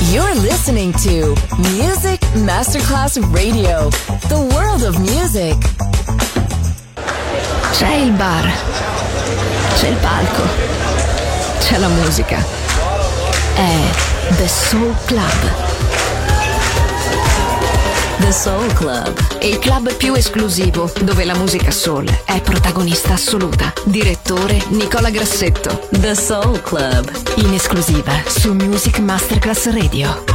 You're listening to Music Masterclass Radio, the world of music. C'è il bar, c'è il palco, c'è la musica. È The Soul Club. The Soul Club, Il club più esclusivo dove la musica soul è protagonista assoluta. Direttore Nicola Grassetto. The Soul Club, In esclusiva su Music Masterclass Radio.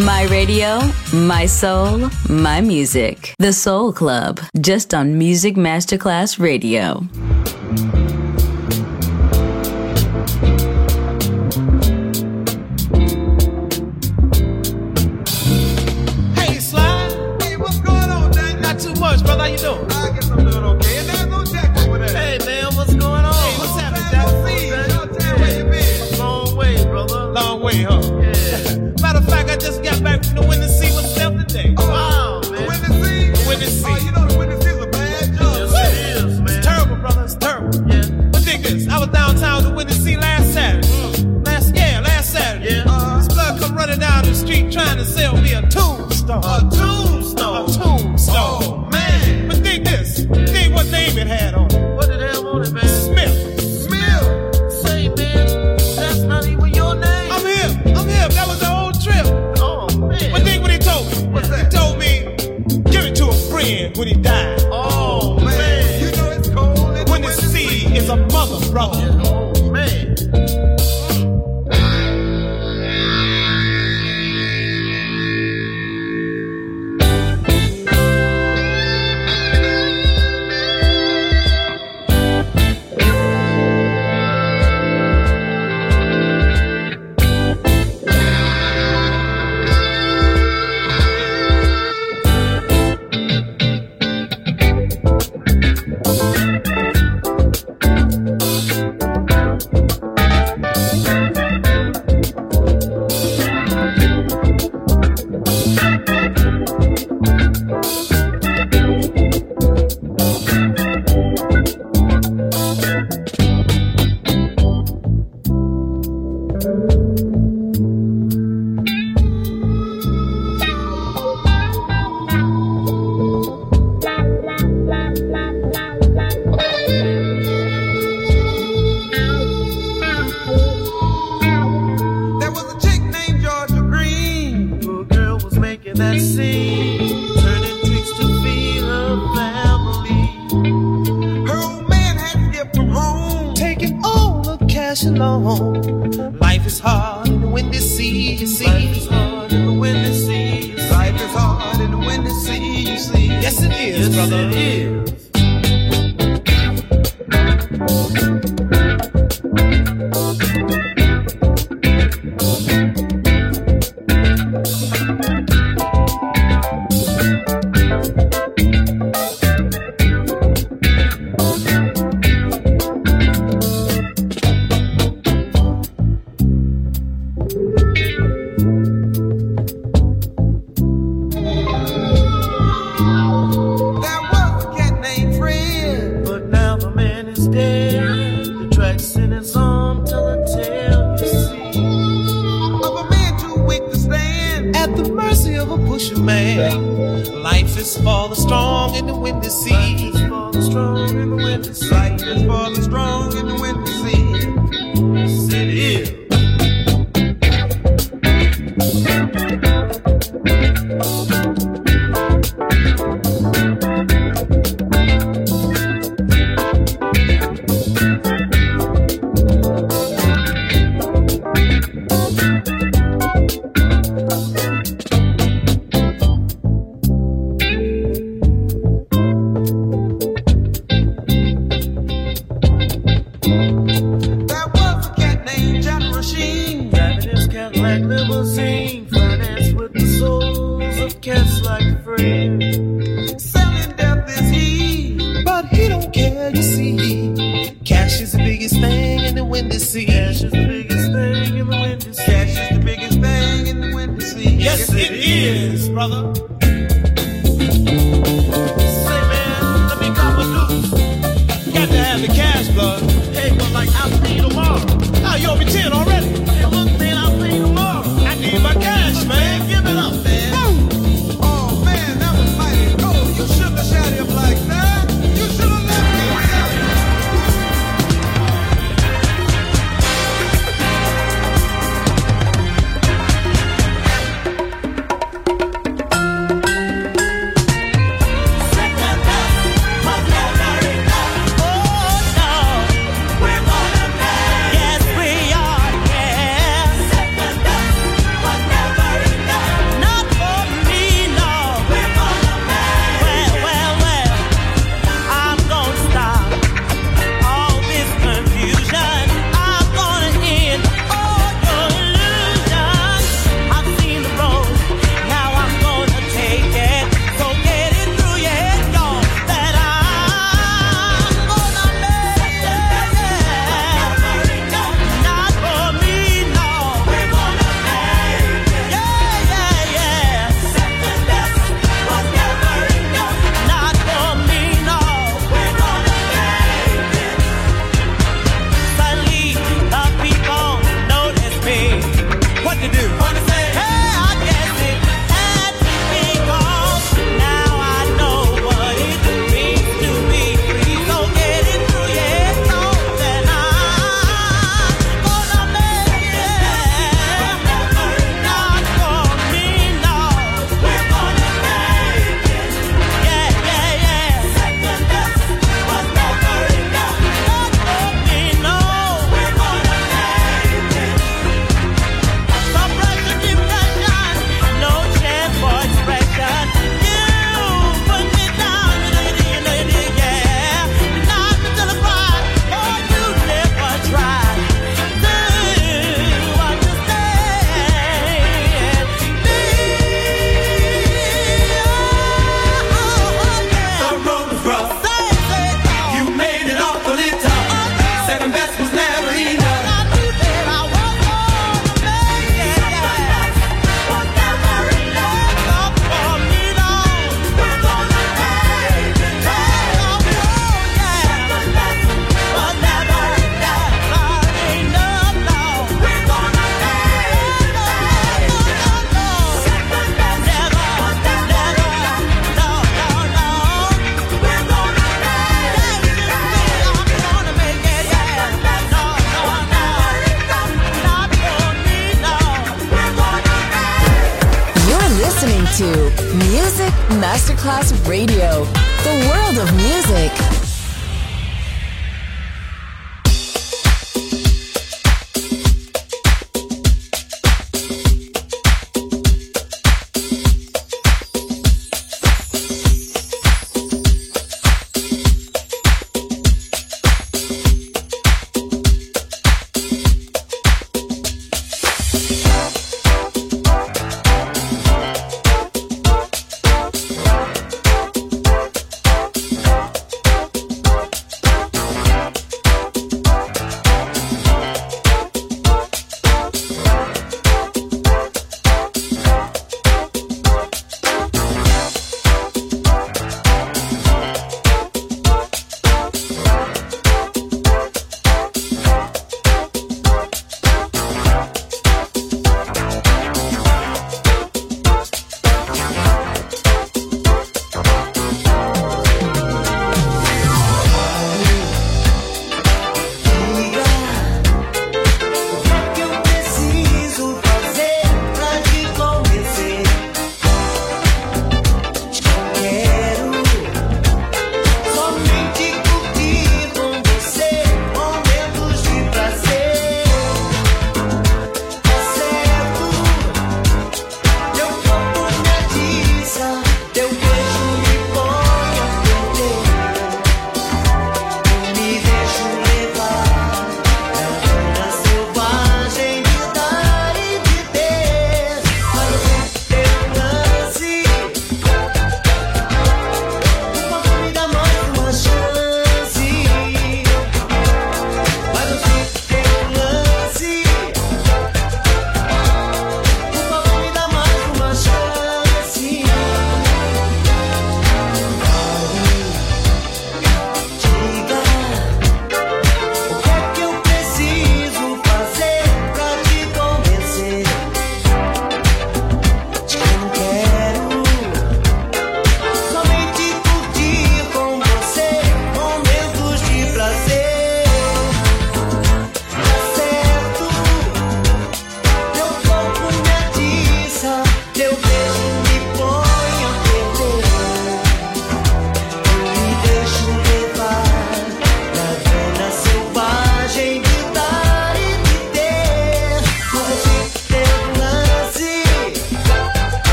My radio, my soul, my music. The Soul Club, just on Music Masterclass Radio. Hey, Sly. Hey, what's going on, man? Not too much, brother. How you doing? I guess I'm doing okay. And there's no Jack over there. Hey, man, what's going on? Hey, what's happening, Jack? Where you been? Long way, brother. Long way, huh? Yeah. Matter of fact, I just got back from the Windy Sea myself today. Oh, wow, man. The Windy Sea? The Windy Sea. Oh, you know the Windy Sea is a bad job. Yes, it is, man. It's terrible, brother. It's terrible. Yeah. But dig this. I was downtown the Windy Sea last Saturday. Last Saturday. Yeah. This blood come running down the street trying to sell me a tombstone. A tombstone? A tombstone. Oh, man. But dig this. Dig what name it had on it. What did it have on it, man? Smith. Say, man, that's not even your name. I'm him. That was the whole trip. Oh, man. But think what he told me. What's that? He told me, give it to a friend when he died. Oh, man. You know it's cold. When the sea is a mother, brother. Yeah. Oh, man. Life is hard in the Windy Sea, you see. Life is hard in the Windy Sea, you see. Life is hard in the Windy Sea, you see. Yes, it is, yes, brother. It is. Masterclass Radio, the world of music.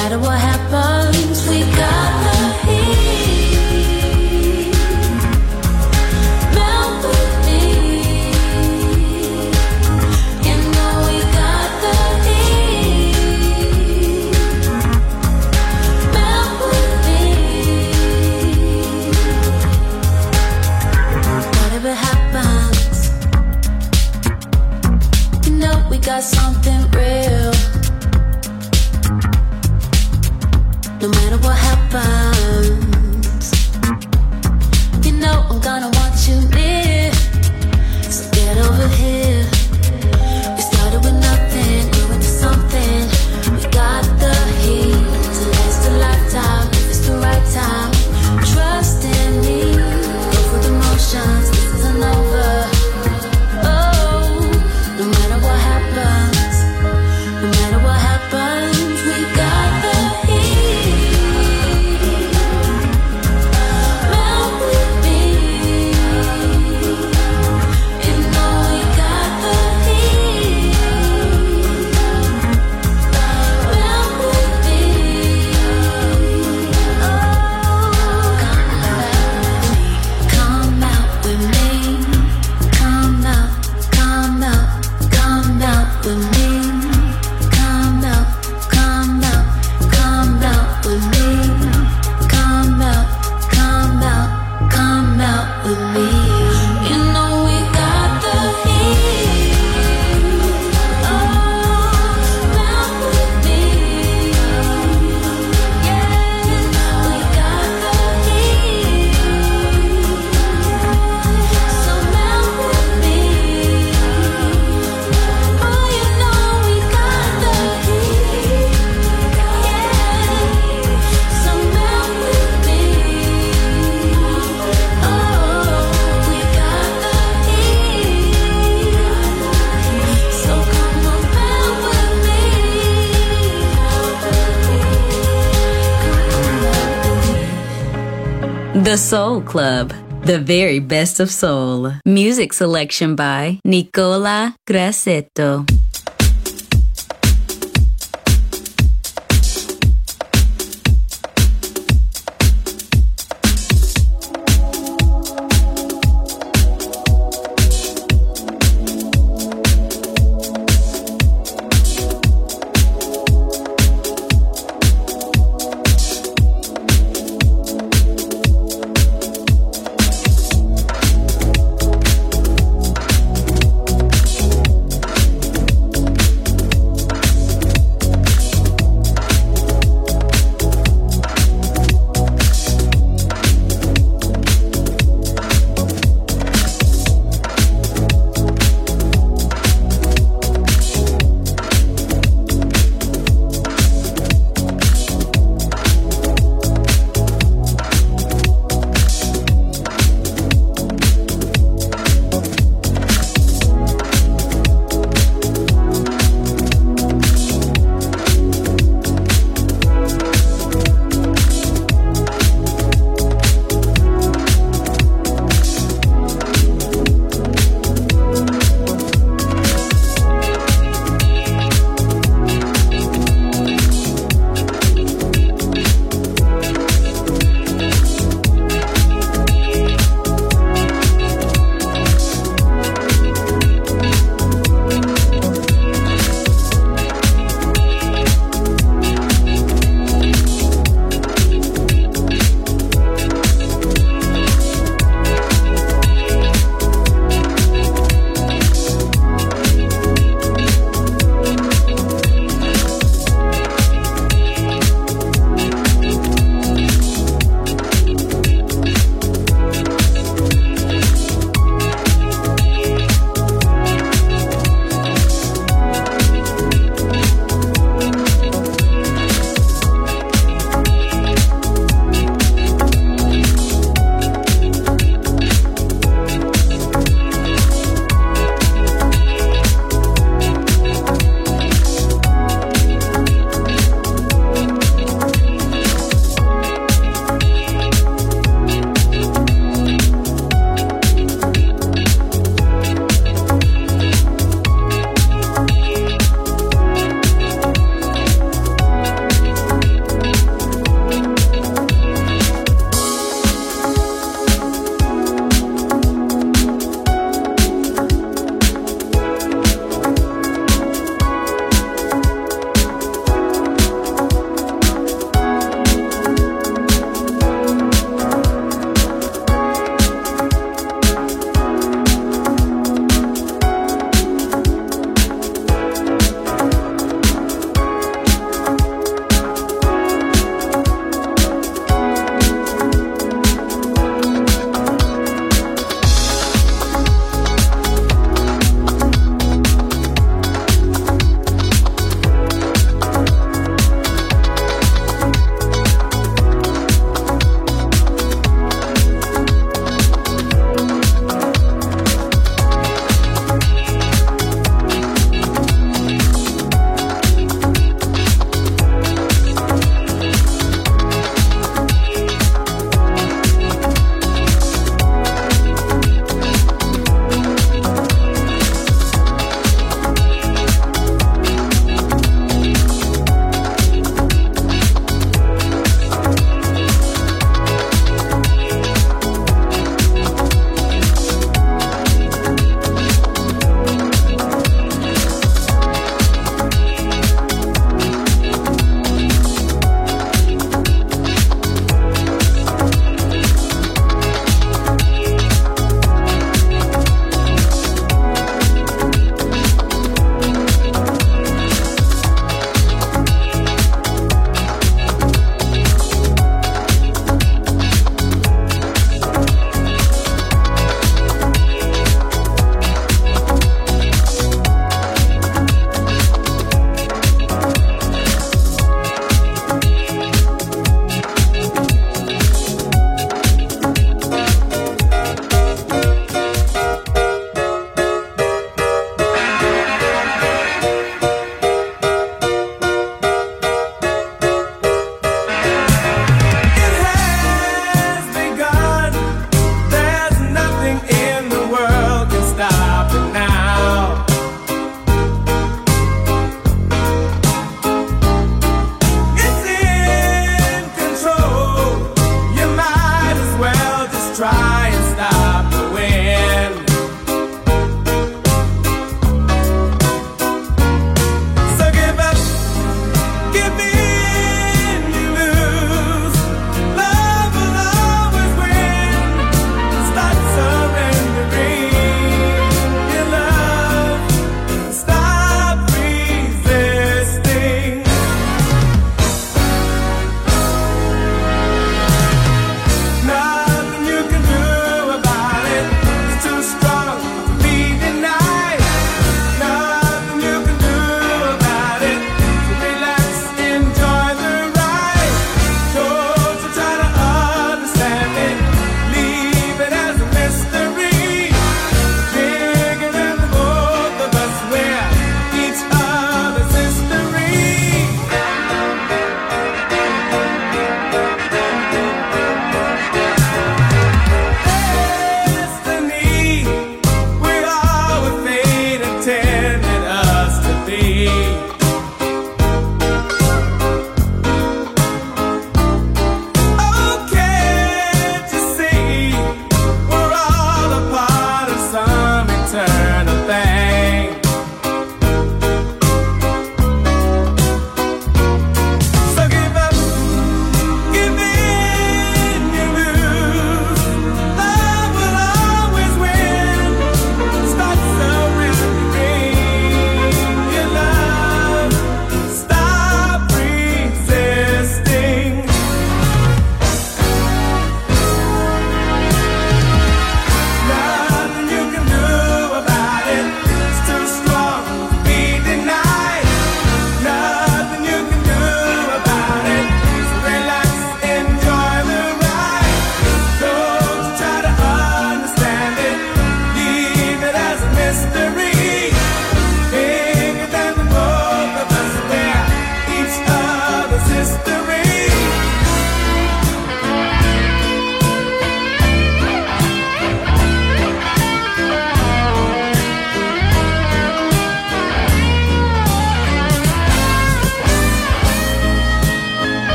matter what happens, we got the heat. Melt with me. You know we got the heat. Melt with me. Whatever happens, you know we got something real. No matter what happens, you know I'm gonna want you near. So get over here. We started with nothing, grew into something. We got the heat to last a lifetime. If it's the right time, trust in me. Go through the motions, this isn't over. Oh, no matter what happens, no matter what happens, we got the The Soul Club, the very best of soul. Music selection by Nicola Grassetto.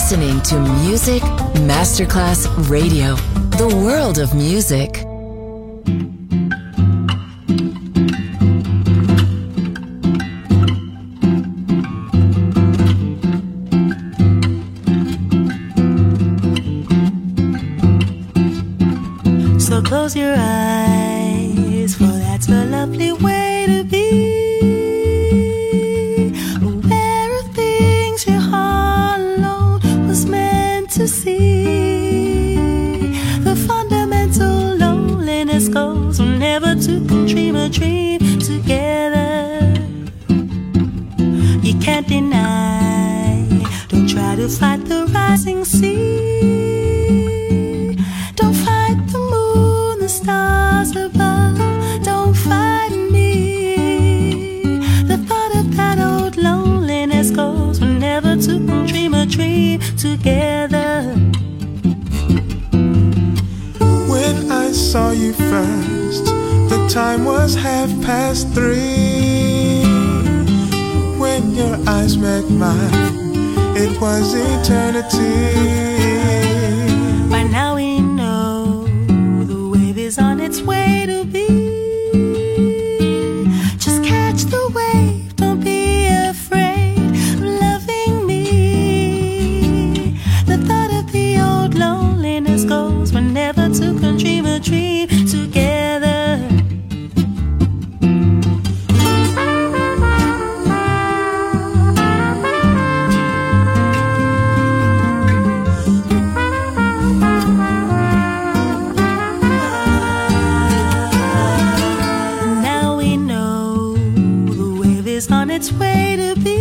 listening to Music Masterclass Radio, the world of music. So close your eyes, for that's a lovely way to be. Aware of things your heart alone was meant to see. The fundamental loneliness goes whenever two can dream a dream together. You can't deny, don't try to fight the rising sea. Don't fight the moon, the stars above, don't fight me. The thought of that old loneliness goes whenever two can dream a dream together. When I saw you first, the time was 3:30. When your eyes met mine, it was eternity. By now we know the wave is on its way to be. Just catch the wave, don't be afraid of loving me. The thought of the old loneliness goes whenever two can dream a dream together. Its way to be.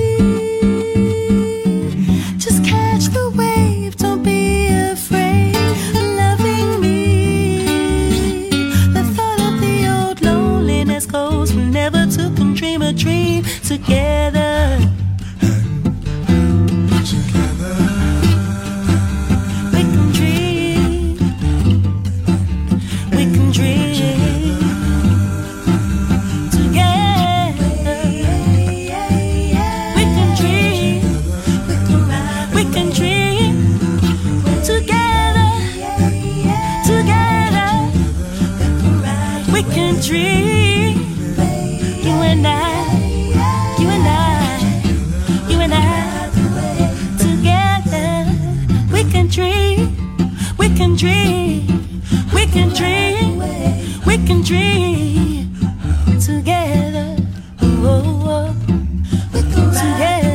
Just catch the wave, don't be afraid of loving me. The thought of the old loneliness goes whenever two can dream a dream together. Together we can dream, we can dream. Dream, you and I, you and I, you and I, together. We can dream, we can dream, we can dream, we can dream together. Oh, oh, oh. Together.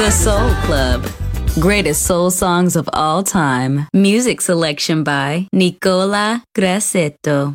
The Soul Club. Greatest soul songs of all time. Music selection by Nicola Grassetto.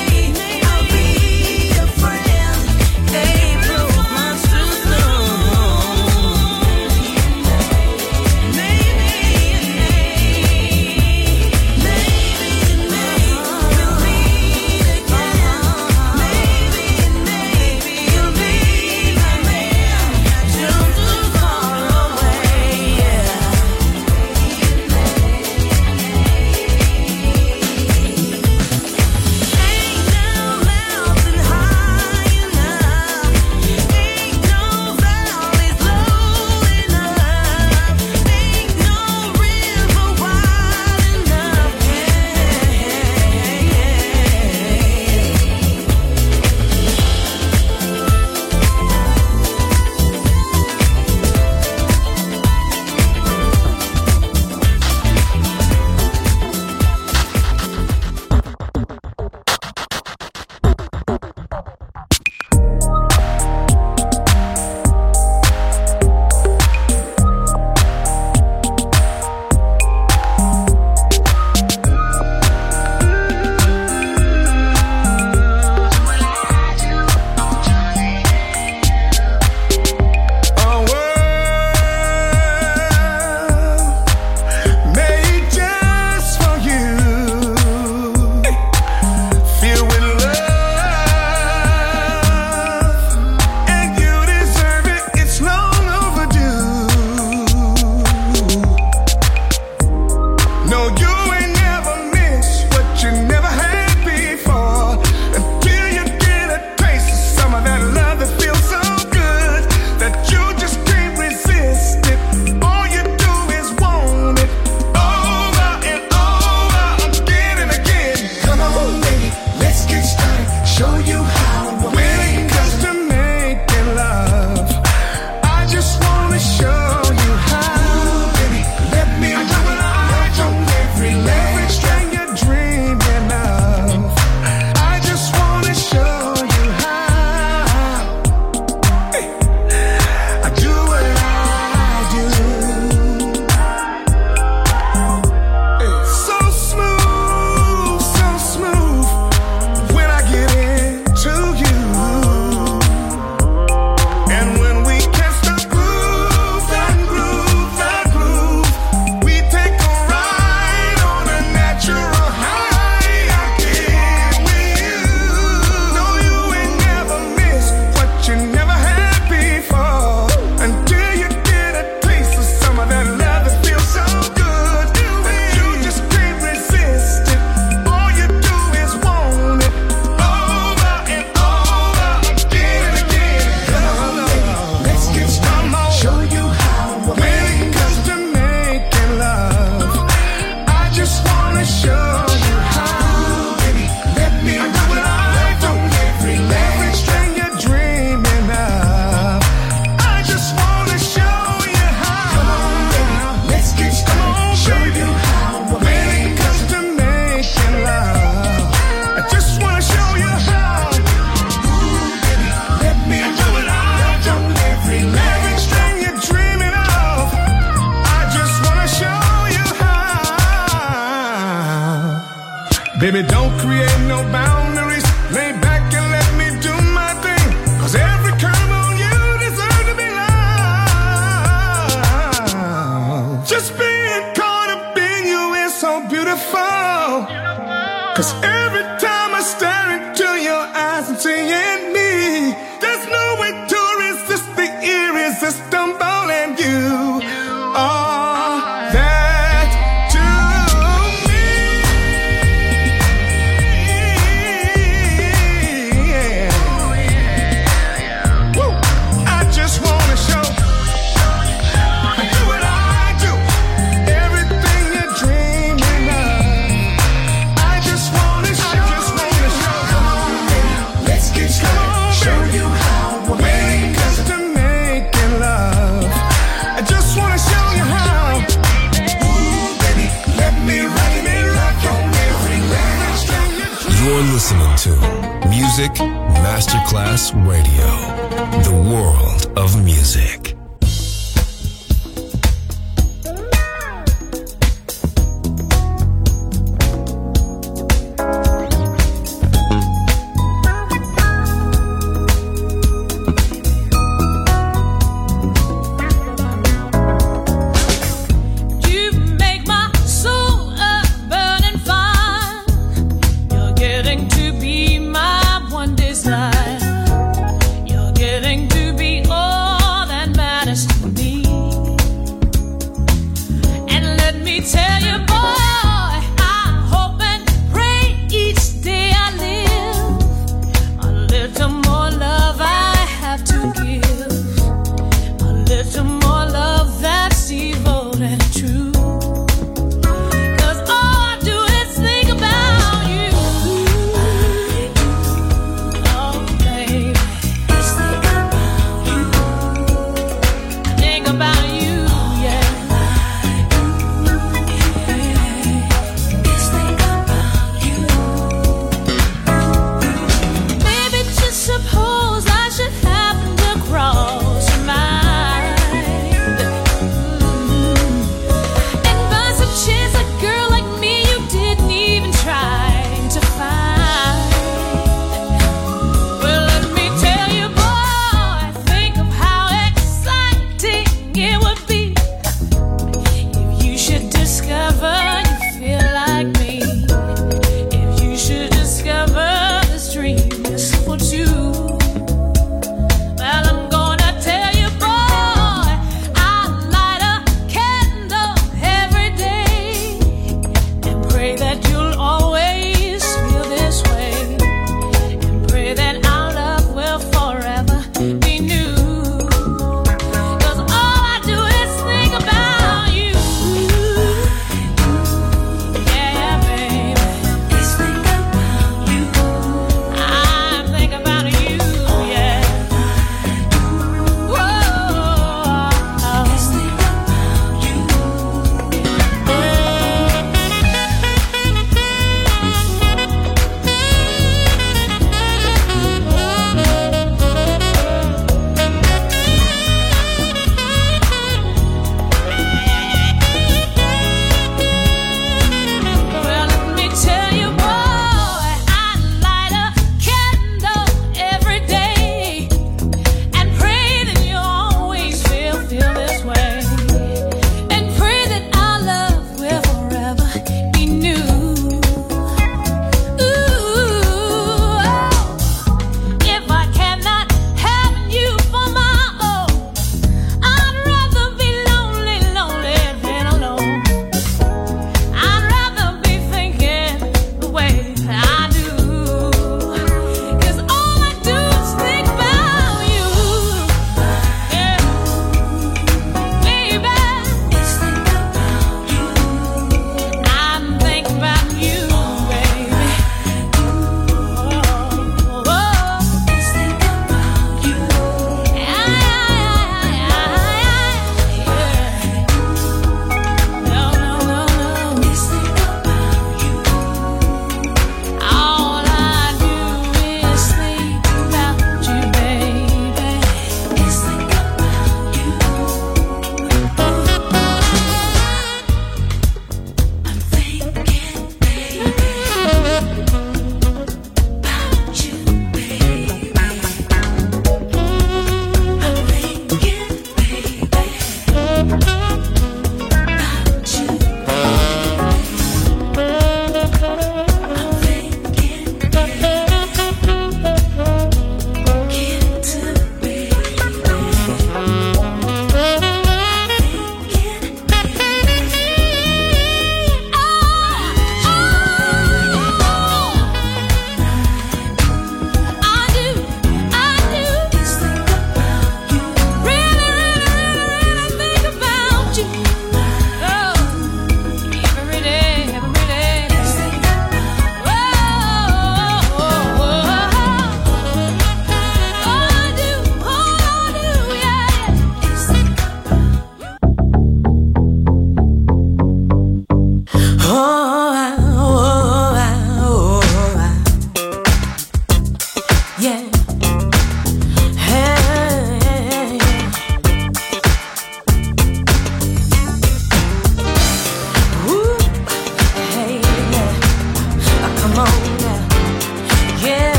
April, much too soon. Baby, don't create no boundaries. Lay back and let me do my thing. 'Cause every curve on you deserves to be loved. Just being caught up in you is so beautiful. 'Cause every time I stare into your eyes, I'm seeing me. There's no way to resist the irresistible, and you are that to me. Woo. I just wanna show you what I do. Everything you're dreaming of. I just wanna show. Let's get started. Show you how we're made to making love. I just wanna show you how. Ooh, baby, let me rock on every line. You're listening to Music Masterclass Radio, the world of music. You make my soul a burning fire. You're getting to be my one desire. You're getting to be all that matters.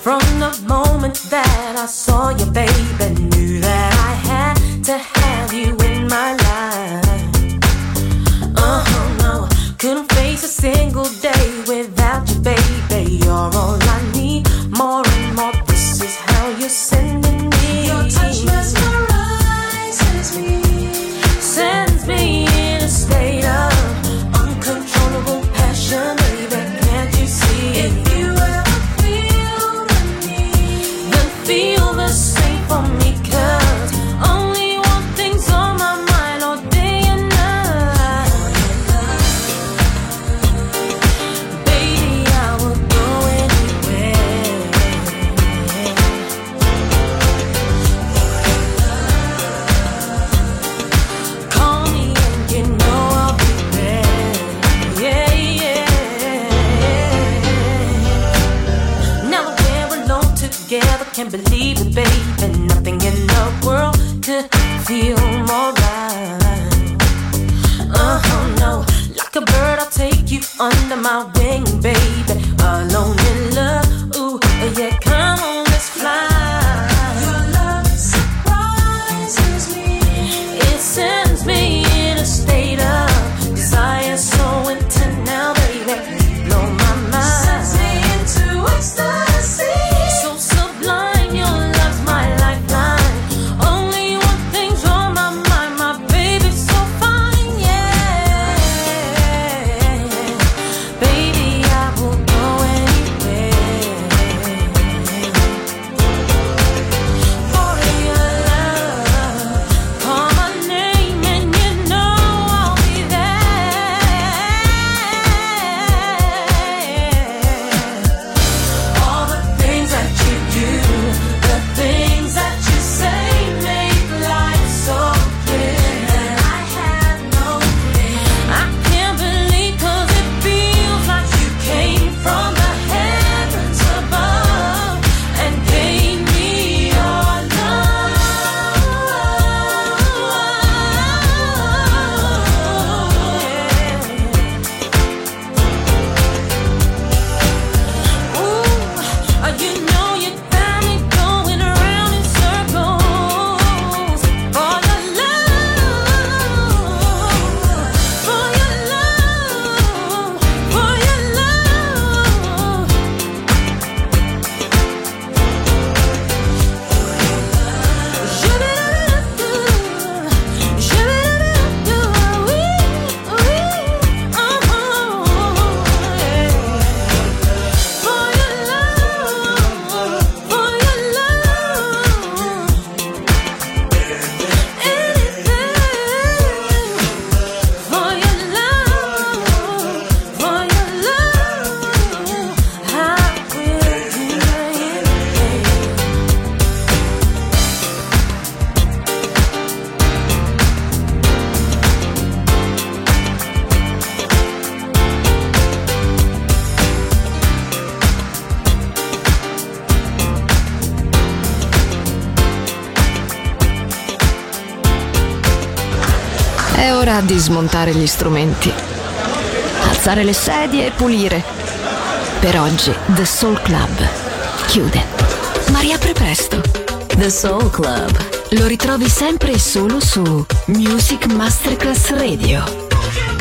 From the moment that I saw you, baby, knew that I had to have you in my life. No, couldn't face a single day without you, baby. You're all I need, more and more. This is how you're sending me. Your touch mesmerizes me, sends me in a state of uncontrollable passion, baby. Can't you see? If you ever feel the need, then feel the same for me, 'cause only one thing's on my mind all day and night. Baby, I will go anywhere. Call me and you know I'll be there. Yeah, yeah. Now that we're alone together, can't believe it, baby. Nothing in the world could feel more right. No, like a bird, I'll take you under my wing, baby. Alone in love, ooh, yeah, come on, let's fly. Your love surprises me. It sends me in a state of desire so intense now, baby. Blow my mind. Sends me into ecstasy. So sublime, your love's my lifeline. Only one thing's on my mind, my baby's so fine, yeah. Baby, I will go anywhere for your love. Call my name and you know I'll be there. All the things that you do, the things that you say make life so clear that I have no fear. I can't believe 'cause it feels like you came from the heavens above and gave me your love. Ooh, you know you got me going around in circles for your love, for your love, for your love. È ora di smontare gli strumenti, alzare le sedie e pulire. Per oggi The Soul Club chiude, ma riapre presto. The Soul Club. Lo ritrovi sempre e solo su Music Masterclass Radio.